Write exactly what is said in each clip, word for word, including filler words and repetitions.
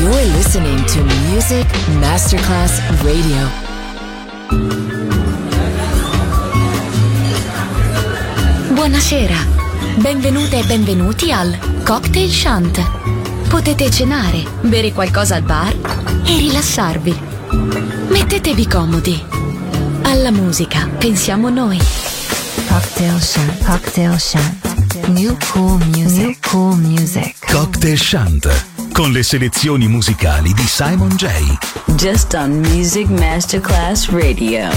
You're listening to Music Masterclass Radio. Buonasera, benvenute e benvenuti al Cocktail Shant. Potete cenare, bere qualcosa al bar e rilassarvi. Mettetevi comodi. Alla musica pensiamo noi. Cocktail Shant, Cocktail Shant. New cool music, New cool music. Cocktail Shant, con le selezioni musicali di Simon J. Just on Music Masterclass Radio.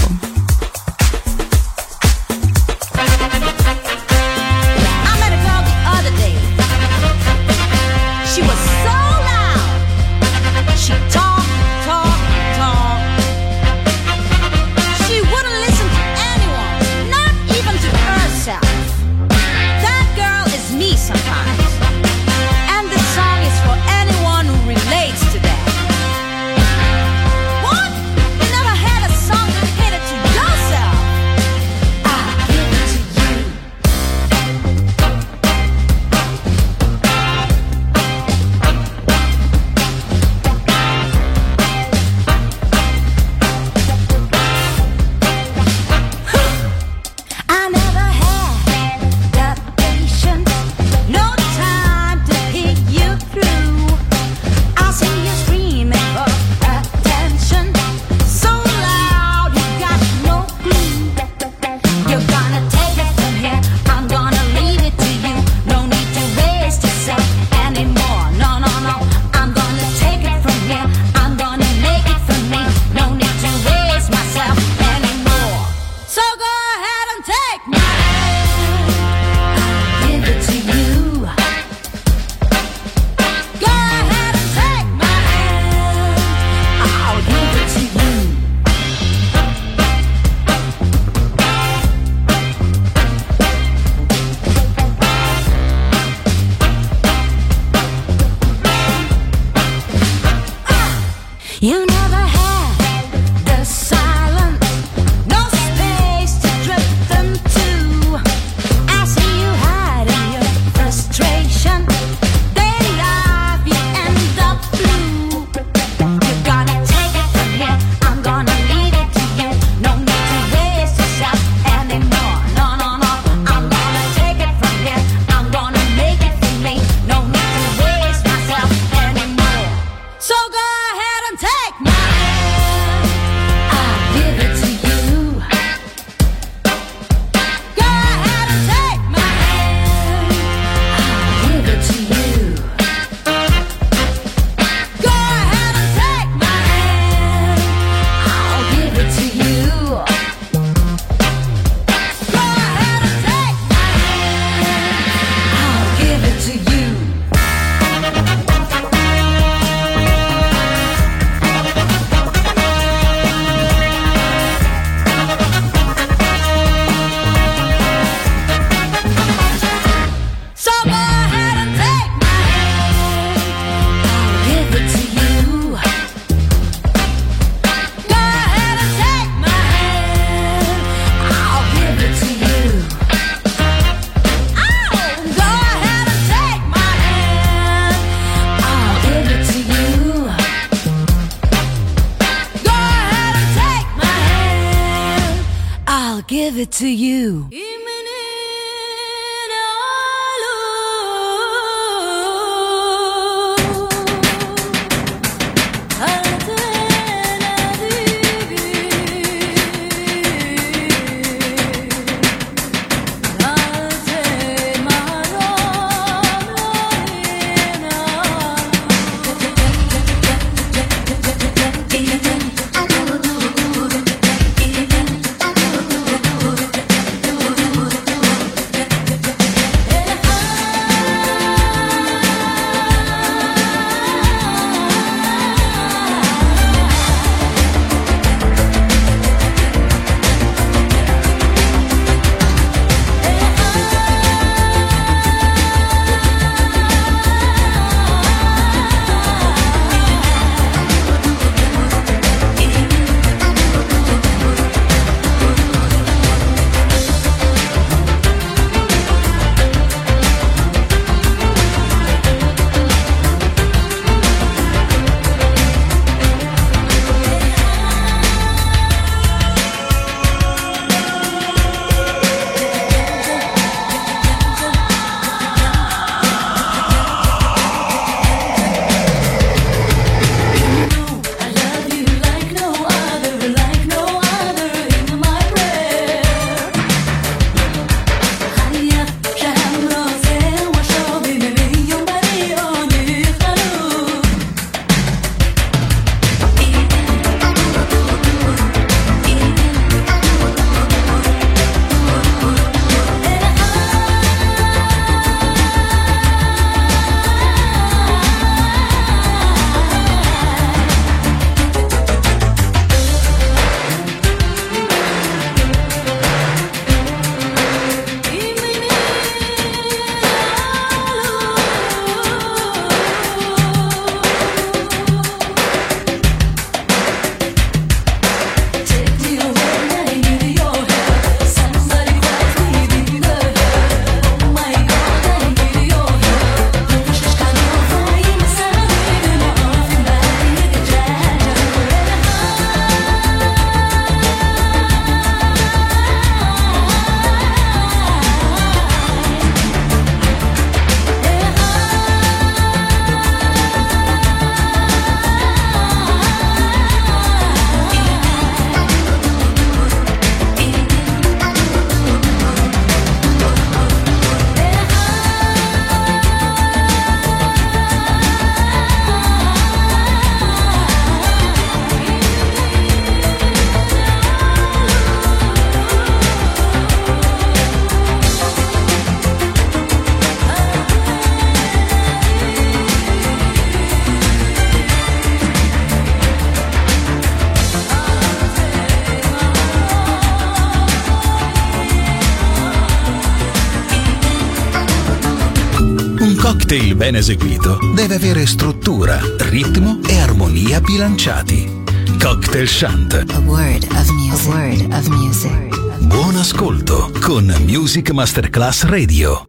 Give it to you. cocktail ben eseguito deve avere struttura, ritmo e armonia bilanciati. Cocktail Shant. A word of music. A word of music. Buon ascolto con Music Masterclass Radio.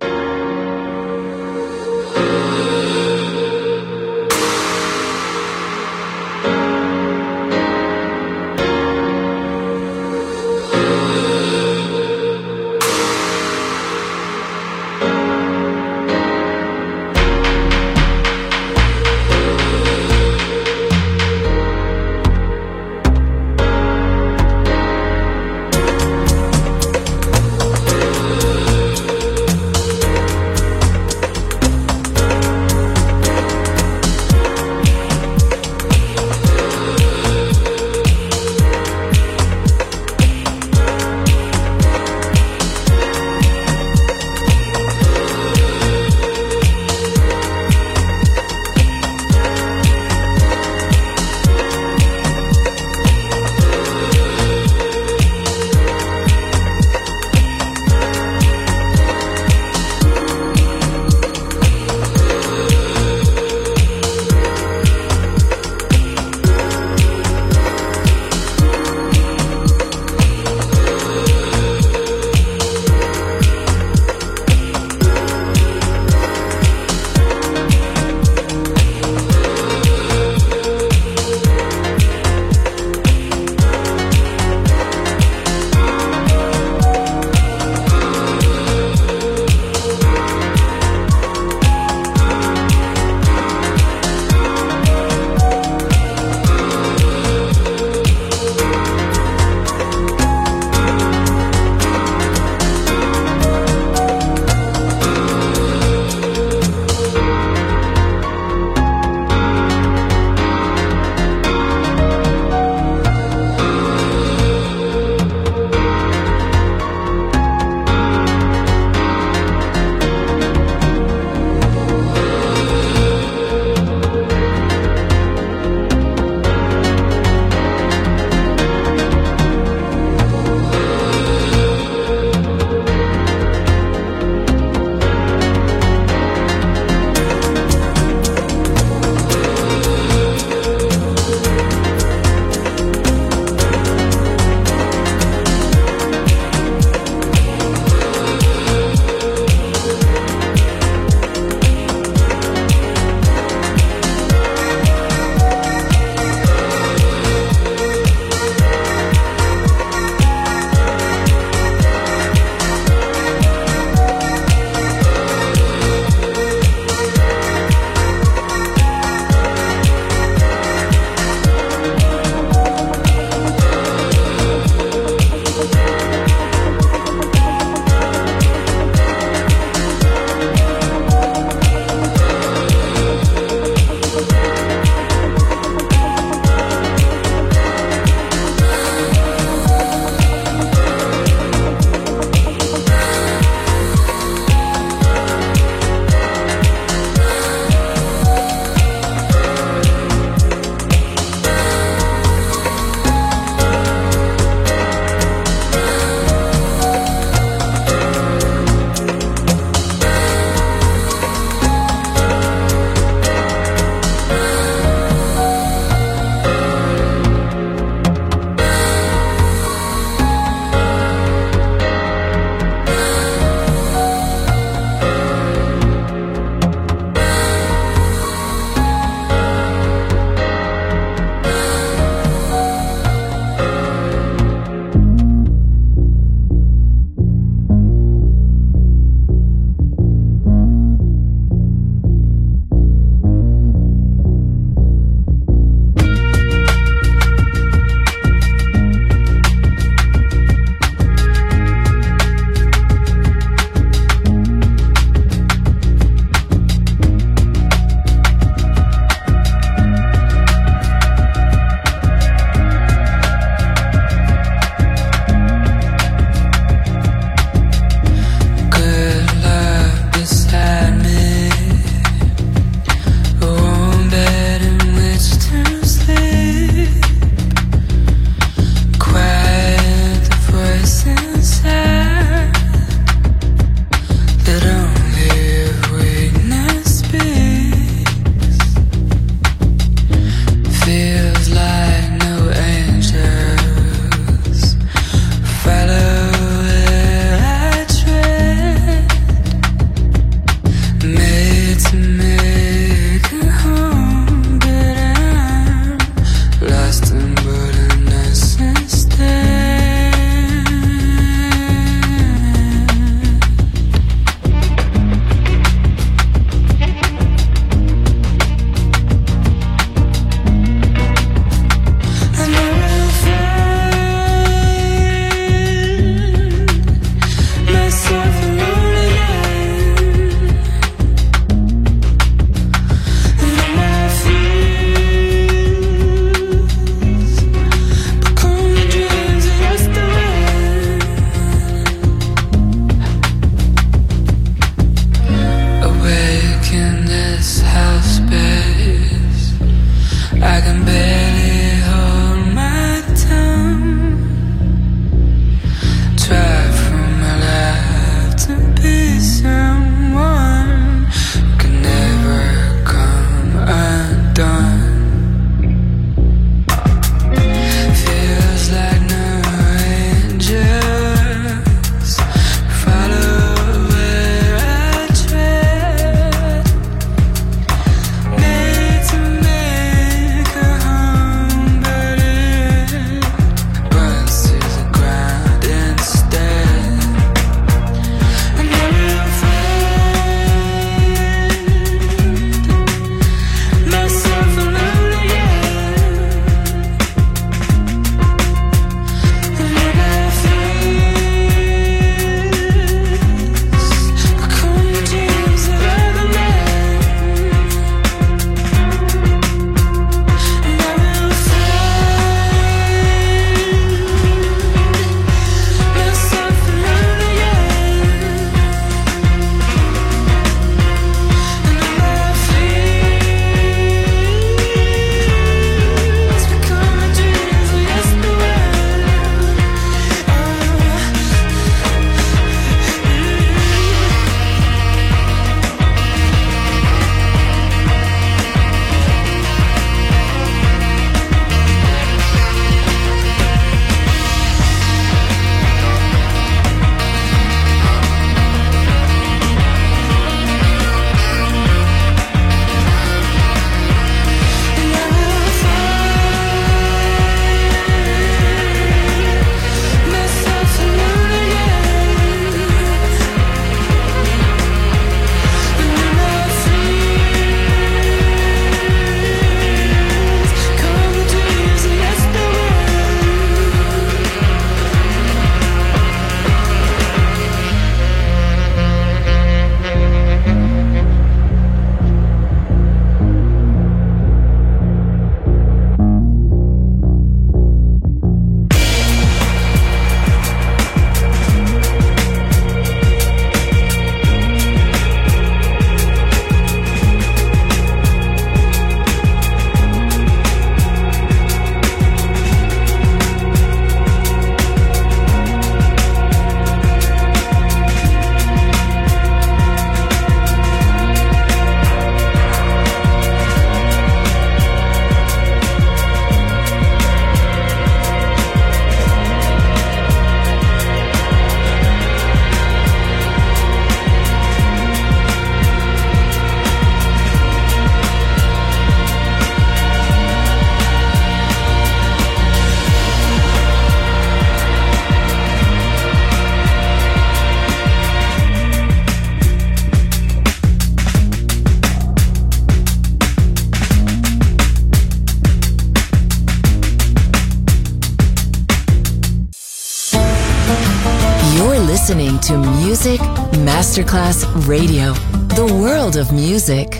listening to Music Masterclass Radio, the world of music.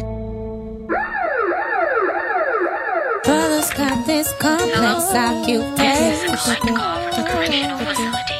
Brothers got this complex occupation. This is a phone call from the correctional facility.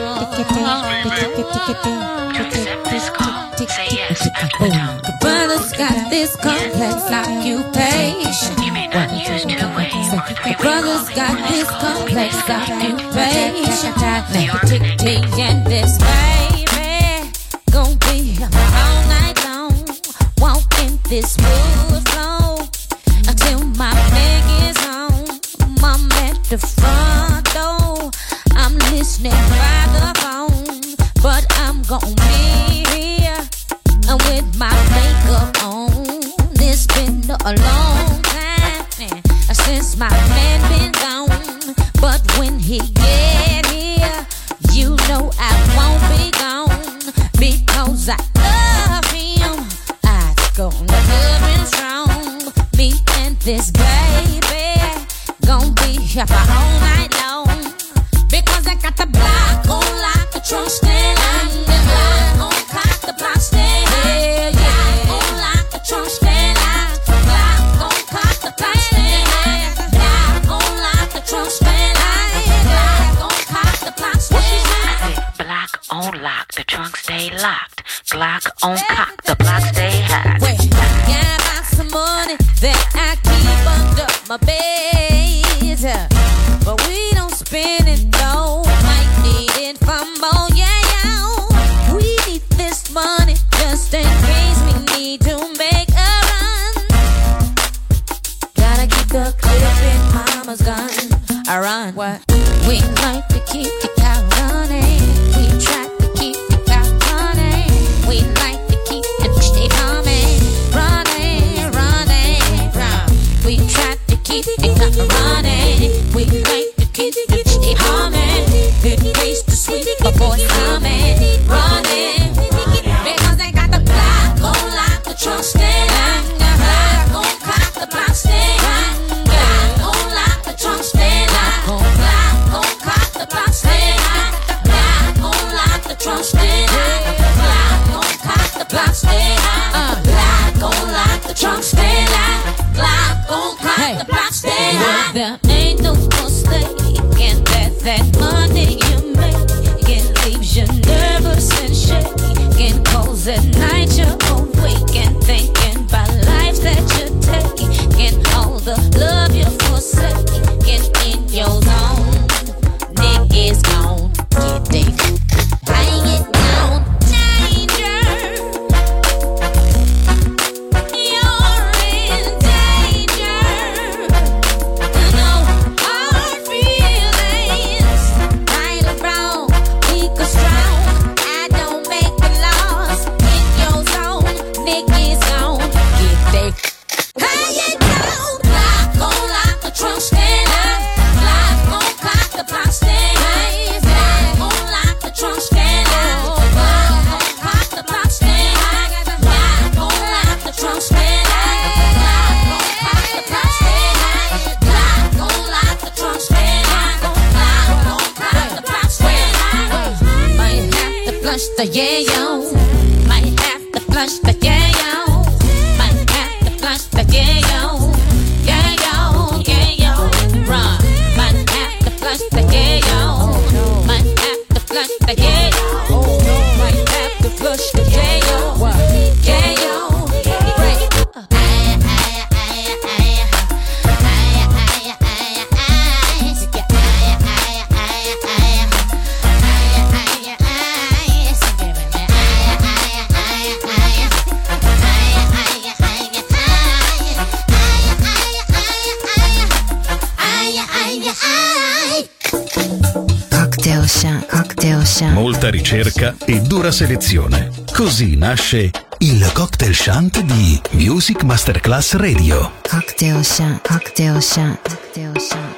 To accept this call, say yes after the tone. Brothers got this complex occupation. You may not use two-way or three-way Brothers calling got for this this call. complex occupation. The organization. Me and this baby gon' be all night long, walking this smooth flow until my leg is home. I'm at the front door, I'm listening by the phone, but I'm gon' be here with my makeup on. It's been a long time since my man been gone, but when he get here, you know I won't be gone, because I love him. I gonna love him strong. Me and this baby gon' be here for all night long, because I got the block on lock, the trunk stand on the block on cock, the block stand yeah, yeah. On lock, the trunk stand on block on cock, the block stand block on lock, the trunk stand block on cock, the block stand. I said block on lock, the trunk stay locked. Glock on cock, the block stay hot. Wait, yeah, I got some money that I keep under my bed, but we don't spend it though. Might need it for more, yeah, yeah. We need this money just in case we need to make a run. Gotta keep the clip in mama's gun. I run. What? We like to keep the cow running. We try to keep the cow running. We like to keep the stay coming, running, running, run. We try to keep the cow running. We like to keep the stay humming. Good place to sweep the boys coming, running. Because they got the block on lock, the trunk stand. Block on cock, the block stand. Block on lock, the trunk stand. Block on cock, the block stand. Block on lock, the trunk stand. Block on cock, the block stand. Block on lock, the trunk stand. Block on cock, the block stand. There ain't no mistaking that that money you make, it leaves you nervous and shaking. Cause at night you're awake and thinking about lives that you're taking, all the love you're forsaking in your zone. Nick is gone, get Dave. Bring it down, danger. You're in danger. No hard feelings, right or wrong, weak or strong. I don't make the laws in your zone. Nick is gone, get Dave. Bring it down, block on lock, the trunk stand. Block on cock, the block stand. Block on lock, the trunk stand. Block on cock, the block stand. Block on lock, the trunk stand. Block on cock, the block stand. Block on lock, the trunk stand. Block on cock, the block stand. Might have to flush the yayo. Might have to flush the yayo. Might have to flush the yayo. Yayo, yayo, run. Might have to flush the yayo. Might have to flush the yayo. Might have to flush the yayo. Yayo, break. Cocktail Shant, Cocktail Shant. Molta ricerca e dura selezione. Così nasce il Cocktail Shant di Music Masterclass Radio. Cocktail Shant, Cocktail Shant, Cocktail Shant.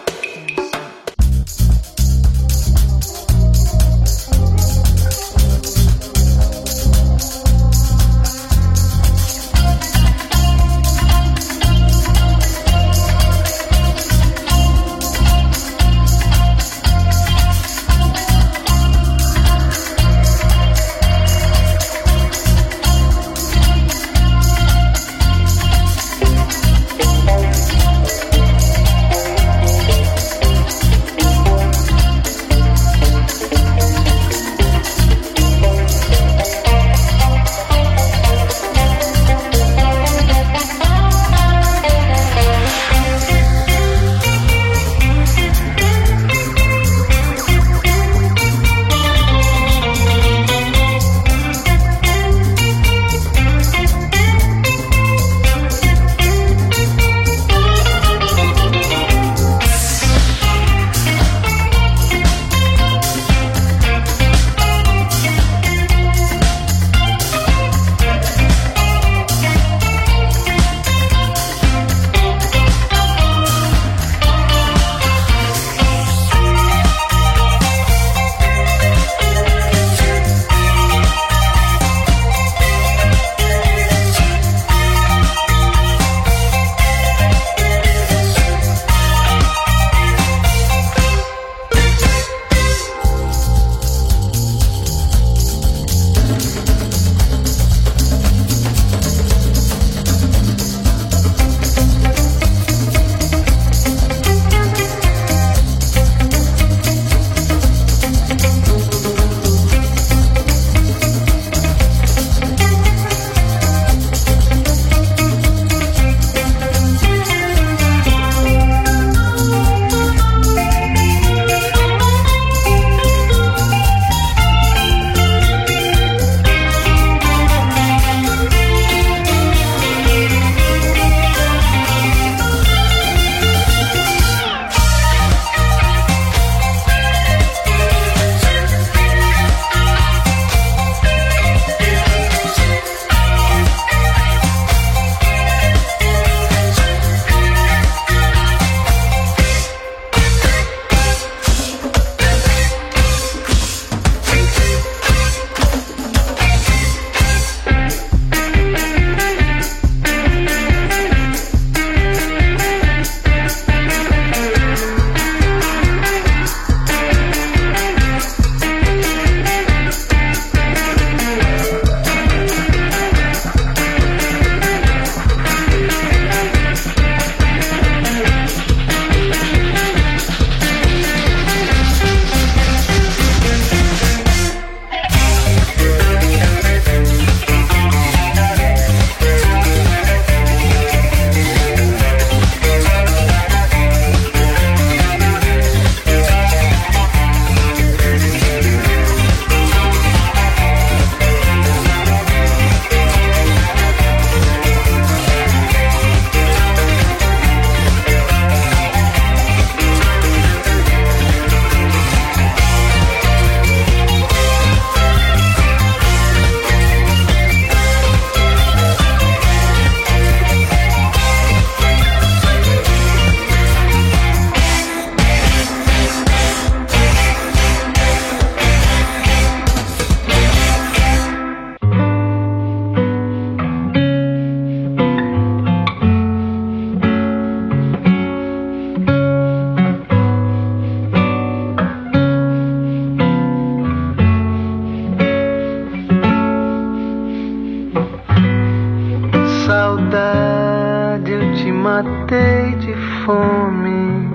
matei de fome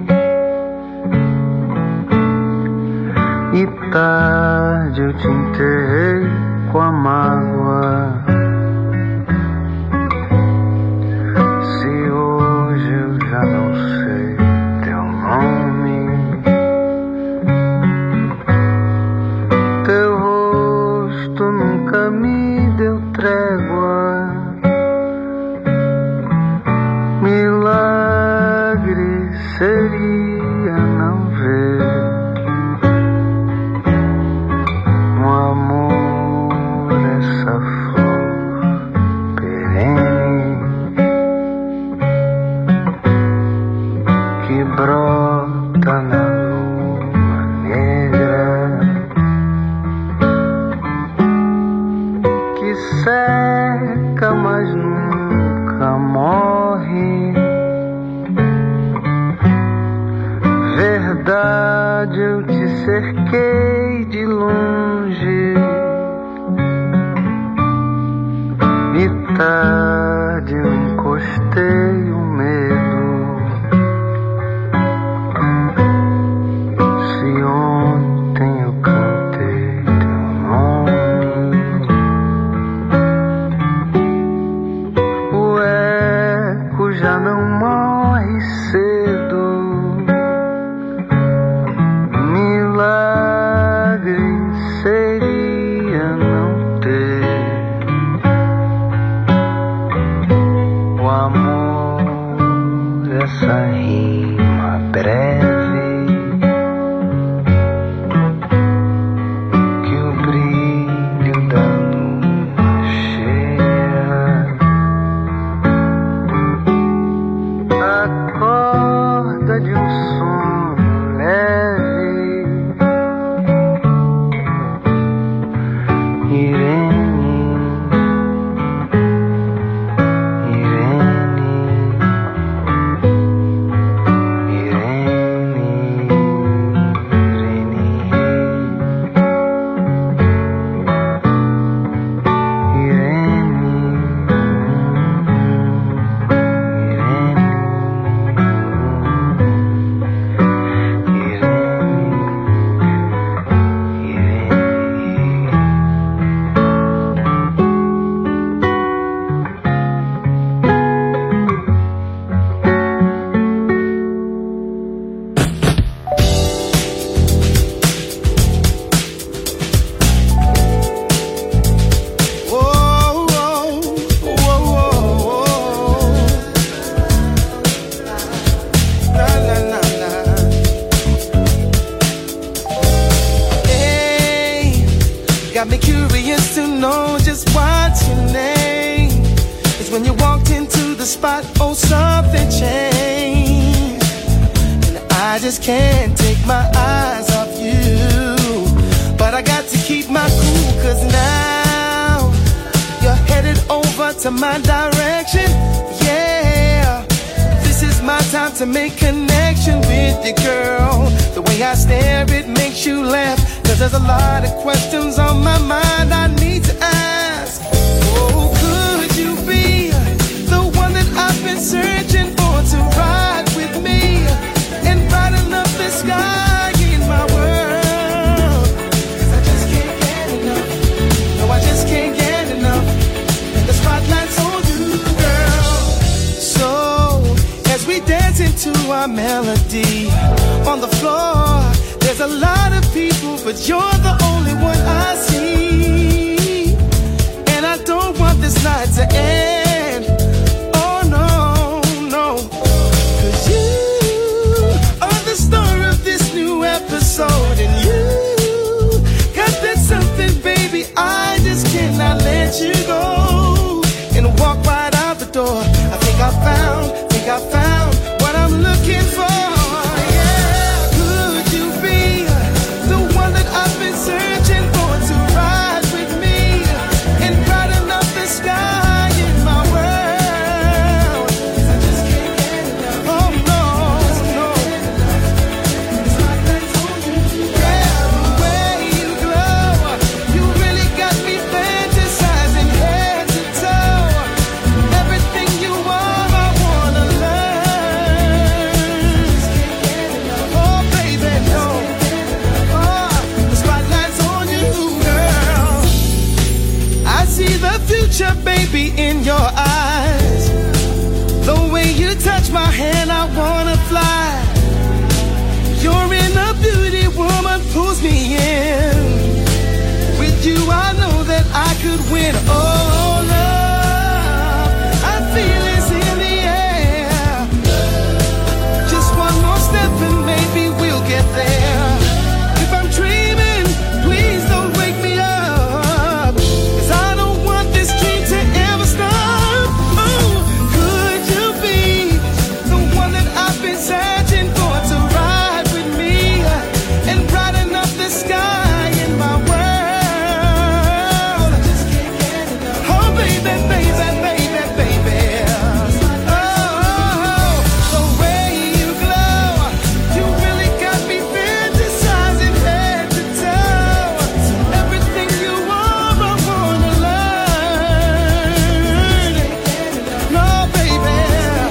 e tarde eu te enterrei com a mágoa. Se hoje eu já não sei teu nome, teu rosto nunca me deu trégua. Milagre seria não ver um amor, essa flor perene que brota na lua negra, que seca mas nunca morre. Verdade, eu te cerquei de longe e tarde eu encostei o medo. Se ontem eu cantei teu nome, o eco já não morre cedo. Milagre seria não ter o amor, essa rima breve que o brilho da lua cheia acorda de um sono leve. Got me curious to know just what's your name. It's when you walked into the spot, oh, something changed. And I just can't take my eyes off you. But I got to keep my cool, cause now you're headed over to my direction. Yeah, this is my time to make connection with you, girl. The way I stare, it makes you laugh. Cause there's a lot of questions on my mind I need to ask. Oh, could you be the one that I've been searching for to ride with me and brighten up the sky in my world? Cause I just can't get enough. No, I just can't get enough. And the spotlight's on you, girl. So, as we dance into our melody on the floor, there's a lot of people, but you're the only one I see. And I don't want this night to end. Oh no, no. Cause you are the star of this new episode. And you got that something, baby, I just cannot let you go. And walk right out the door. I think I found, think I found what I'm looking for. Searching for to ride with me and brighten up the sky in my could win. Oh, love, I feel it's in the air. Just one more step and maybe we'll get there. If I'm dreaming, please don't wake me up, 'cause I don't want this dream to ever stop. Oh, could you be the one that I've been searching for, to ride with me and brighten up the sky in my world? Oh, baby, baby, baby, baby. Oh, the way you glow, you really got me fantasizing head to toe. Everything you are, I wanna learn. No, baby.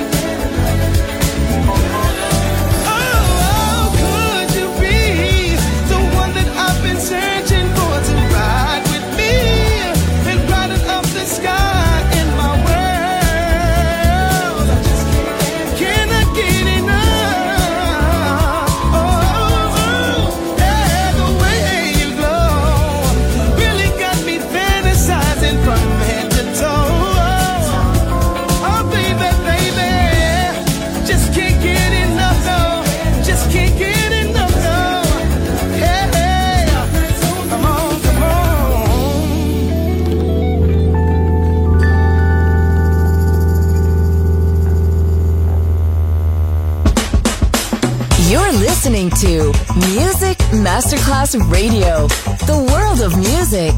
Oh, could you be the one that I've been searching for, to ride with me and brighten up the sky in my world? Can I get enough? Oh, yeah, the way you glow really got me fantasizing from head to toe. Oh, baby, baby, just can't get enough, no. Just can't get enough, no. Hey, hey, come on, come on. You're listening to Music Masterclass Radio, the world of music.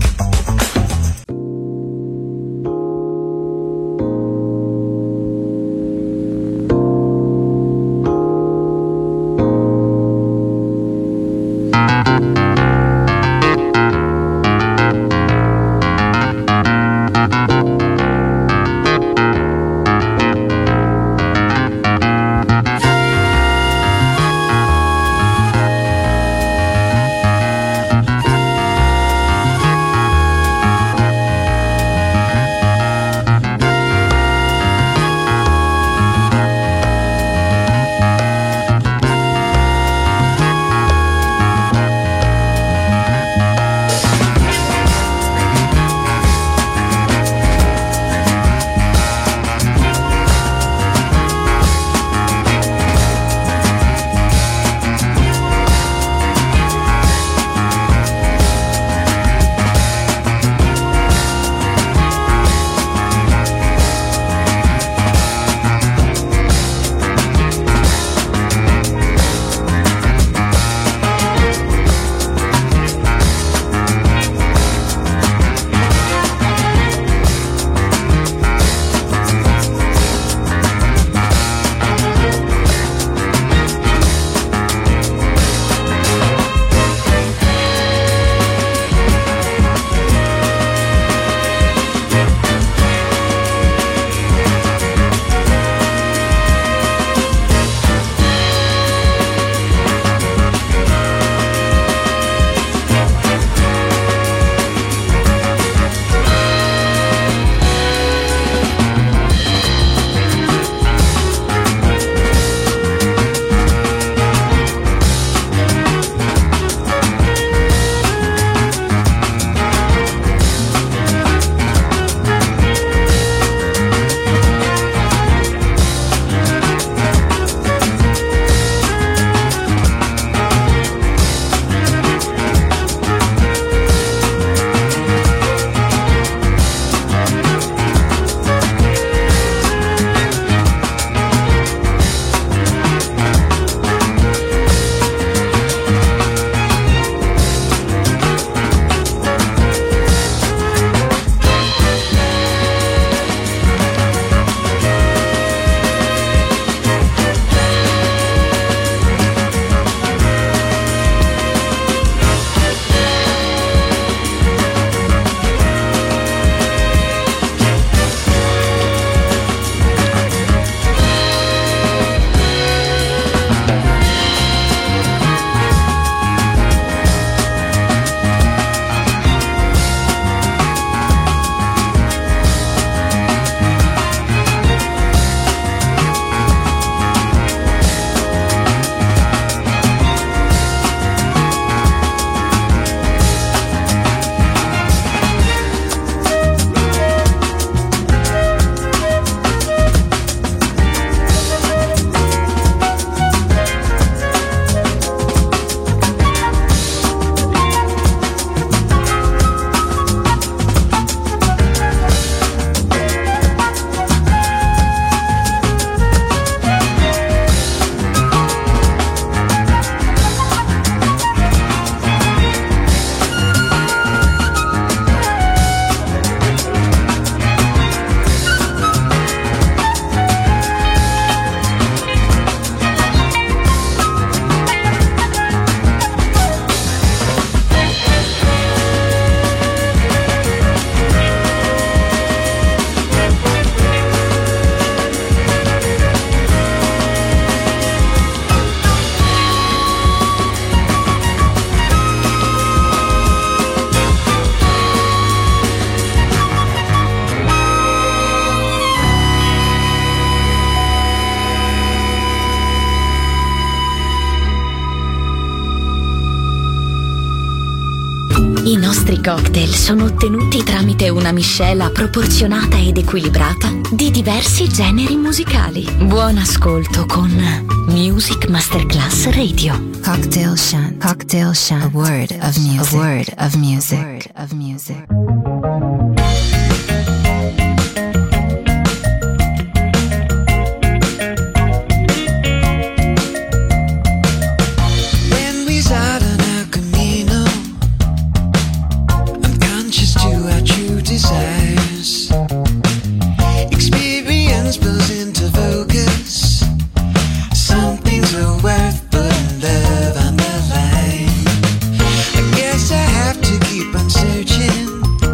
Oh, nostri cocktail sono ottenuti tramite una miscela proporzionata ed equilibrata di diversi generi musicali. Buon ascolto con Music Masterclass Radio. Cocktail Shant. Cocktail Shant. A word of music. A word of music. A word of music. Desires. Experience blows into focus. Some things are worth putting love on the line. I guess I have to keep on searching.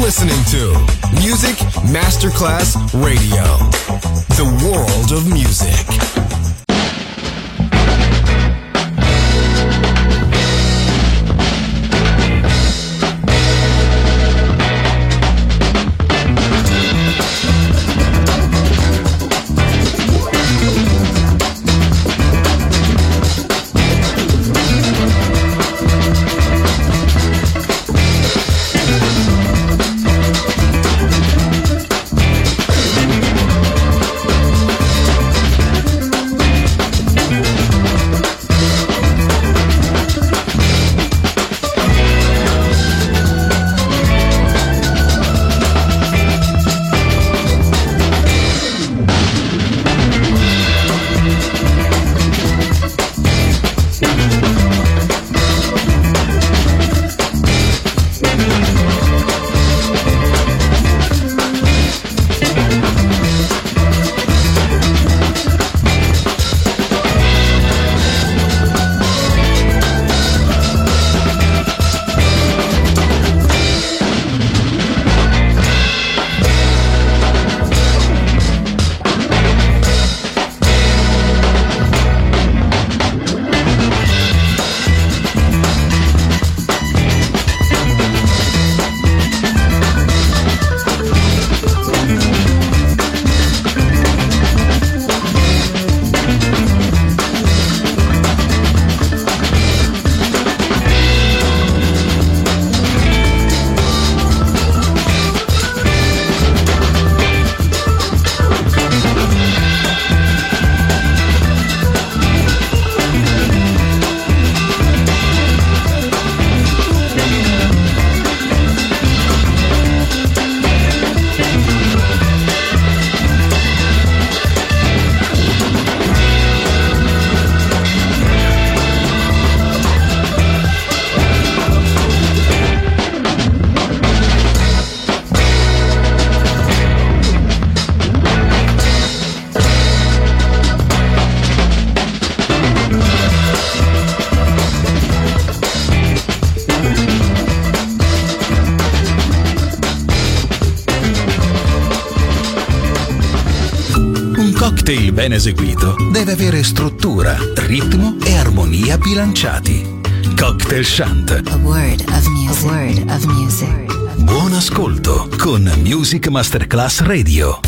listening to Music Masterclass Radio, the world of music. cocktail ben eseguito deve avere struttura, ritmo e armonia bilanciati. Cocktail Chant. A word of music. A word of music. Buon ascolto con Music Masterclass Radio.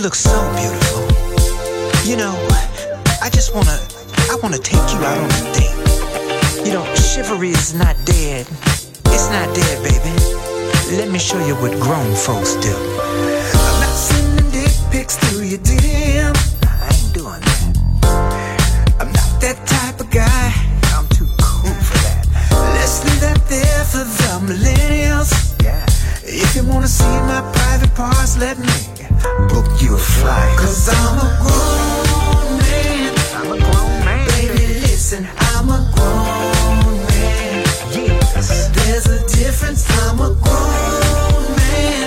look so beautiful. You know, I just wanna, I wanna take you out on a date. You know, chivalry is not dead. It's not dead, baby. Let me show you what grown folks do. I'm not sending dick pics through your D M. I ain't doing that. I'm not that type of guy. I'm too cool for that. Let's leave that there for the millennials. Yeah. If you wanna see my private parts, let me book you a flight. Cause I'm a grown man. I'm a grown man. Baby, listen, I'm a grown man. Yes. There's a difference. I'm a grown man.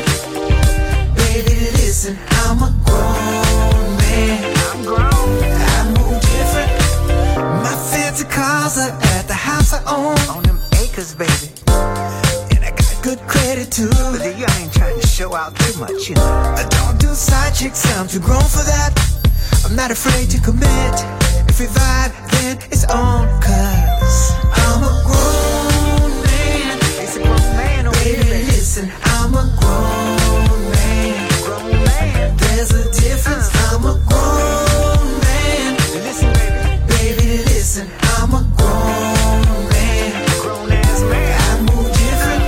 Baby, listen, I'm a grown man. I'm grown. I move different. My fancy cars are at the house I own. On them acres, baby. Good credit too, but I ain't trying to show out too much, you know. I don't do side chicks, I'm too grown for that. I'm not afraid to commit. If we vibe, then it's on. Cause I'm a grown man. It's a grown man over here, baby. Listen, I'm a grown man. Grown man. There's a difference. Uh. I'm a grown man. Listen, baby. Baby, listen, I'm a grown man. Grown ass man. I move different.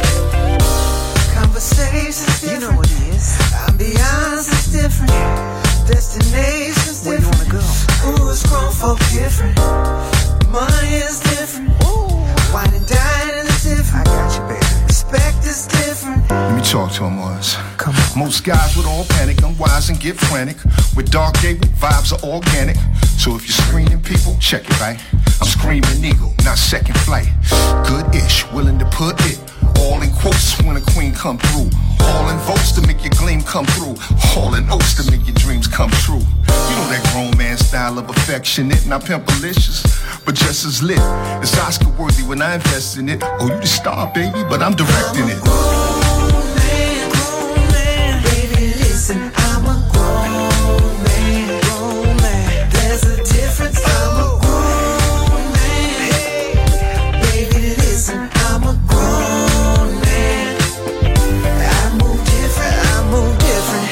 Conversations different. You know what it is. Ambiance is different. Destinations different. Where you wanna go? Ooh, it's grown folk different. Money is different. Ooh, wine and dining is different. I got you, baby. Respect is different. Let me talk to him, Mars. Come on. Most guys would all panic, unwise and get frantic. With Dark Gable, vibes are organic. So if you're screening people, check it, right? I'm screaming eagle, not second flight. Good-ish, willing to put it all in quotes when a queen come through. All in votes to make your gleam come through. All in oaths to make your dreams come true. You know that grown man style of affectionate, not pimpalicious, but just as lit. It's Oscar worthy when I invest in it. Oh, you the star, baby, but I'm directing it. I'm a grown man, grown man. Baby, listen, I'm a grown man, grown man. There's a difference. I'm a grown man. Hey, baby, listen, I'm a grown man. I move different, I move different.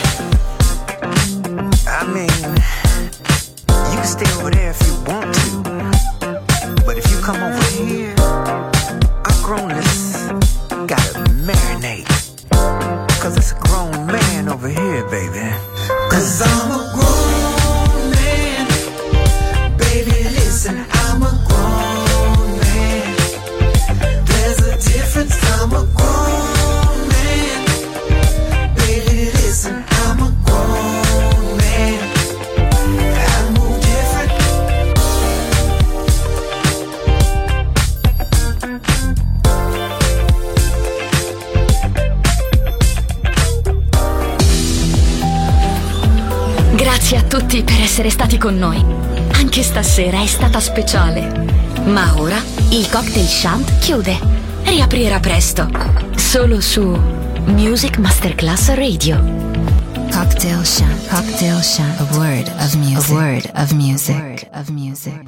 I mean, you can stay over there if you want to, but if you come over here, our grownness gotta marinate. Cause it's a grown man over here, baby. Cause I'm a grown man. Baby, listen, I'm a grown man. There's a difference, I'm a grown man. Baby, listen, I'm a grown man. I move different. Grazie a tutti per essere stati con noi. Anche stasera è stata speciale. Ma ora il Cocktail Shant chiude. Riaprirà presto. Solo su Music Masterclass Radio. Cocktail Shant. Cocktail Shant. A word of music. A word of music. A word of music.